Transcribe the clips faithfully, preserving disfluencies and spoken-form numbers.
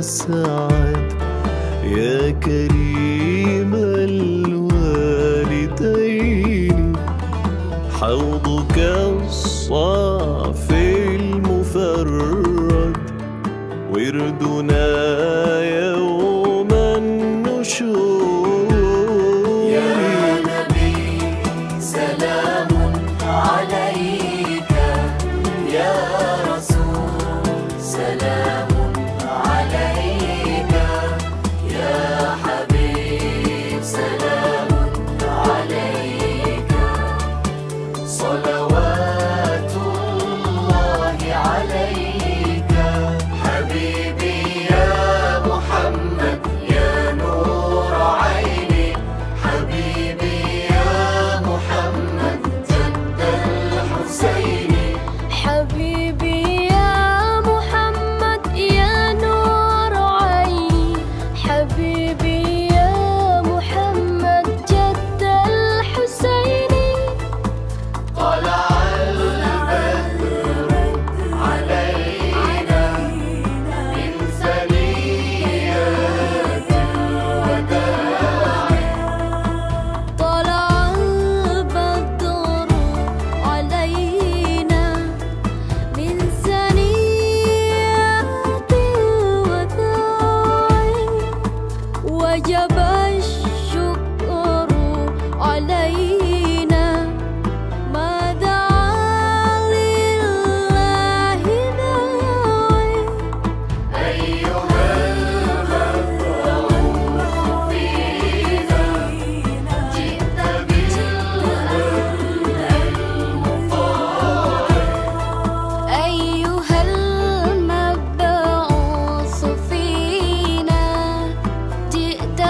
سعد يا كريم الوالدين، حوضك الصافي المفرد وردنا يوم النشور. يا نبي سلام عليك، يا رسول سلام عليك، يا حبيب سلام عليك، صلوات الله عليك. حبيبي يا محمد يا نور عيني، حبيبي يا محمد جد الحسين، حبيبي يا محمد يا نور عيني، حبيبي يا محمد جد الحسين. طلع البدر علينا من ثنيات الوداع، طلع البدر علينا من ثنيات الوداع، وجب الشكر علينا ما دعا لله داعي. أيها المبعوث فينا جئت بالأمر المطاع، أيها المبعوث فينا جئت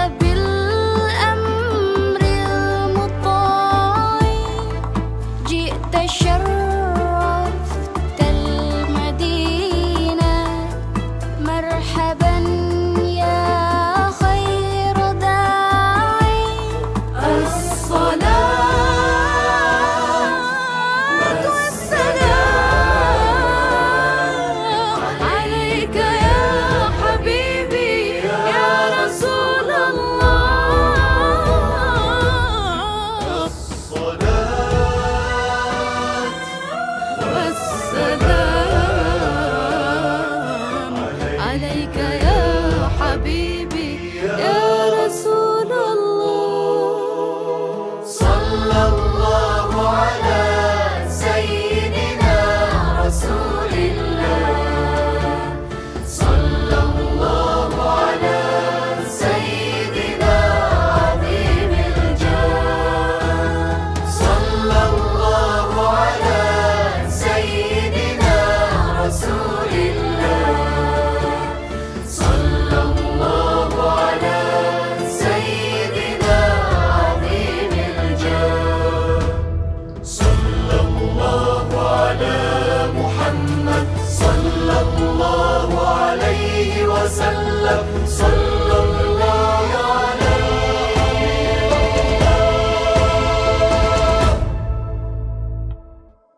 بالأمر المطاع، جئت شرفت المدينة، مرحبا يا خير داعي. الصلاة والسلام عليك يا حبيبي يا رسول الله، الصلاة والسلام عليك يا حبيبي يا رسول الله. صلى الله على سيدنا رسول الله، صلى الله على سيدنا عظيم الجاه، صلى الله على سيدنا رسول الله، صلى الله على سيدنا عظيم الجاه، صلى الله على محمد صلى الله عليه وسلم.